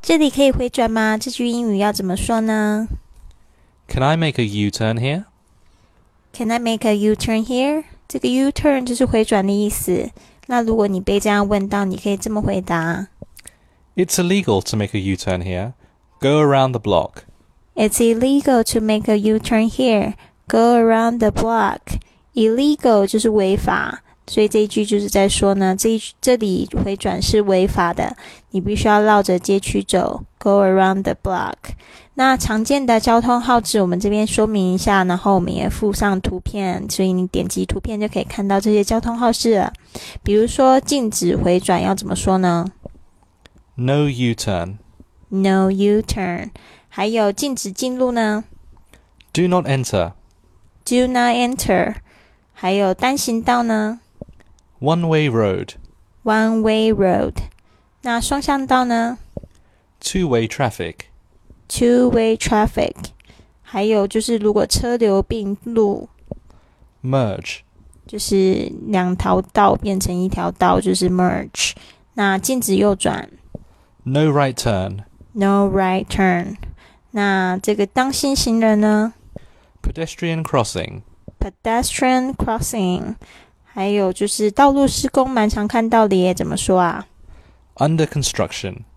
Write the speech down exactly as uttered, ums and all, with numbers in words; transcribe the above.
这里可以回转吗？这句英语要怎么说呢？ Can I make a U-turn here? Can I make a U-turn here? 这个 U-turn 就是回转的意思。那如果你被这样问到，你可以这么回答。 It's illegal to make a U-turn here. Go around the block. It's illegal to make a U-turn here. Go around the block. Illegal 就是违法，所以这一句就是在说呢，这一这里回转是违法的，你必须要绕着街区走。Go around the block. 那常见的交通号志我们这边说明一下，然后我们也附上图片，所以你点击图片就可以看到这些交通号志了。比如说禁止回转要怎么说呢？ No U-turn. No U-turn. 还有禁止进入呢？ Do not enter. Do not enter. 还有单行道呢？ One-way road. One way road. 那双向道呢？ Two-way traffic. Two way traffic. 还有就是如果车流并路， Merge. 就是两条道变成一条道，就是 merge. 那禁止右转， No right turn. No right turn. 那这个当心行人呢？ Pedestrian crossing. Pedestrian crossing. 还有就是道路施工蛮常看到的耶，怎么说啊？ Under construction.